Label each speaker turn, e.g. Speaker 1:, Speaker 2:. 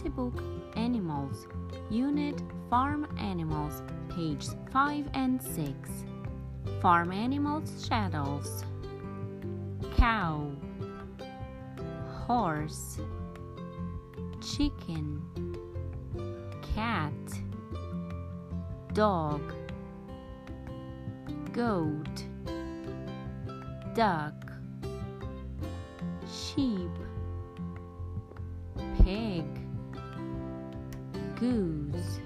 Speaker 1: Book Animals, Unit Farm Animals, pages 5 and 6. Farm Animals Shadows: cow, horse, chicken, cat, dog, goat, duck, sheep, pig, goose,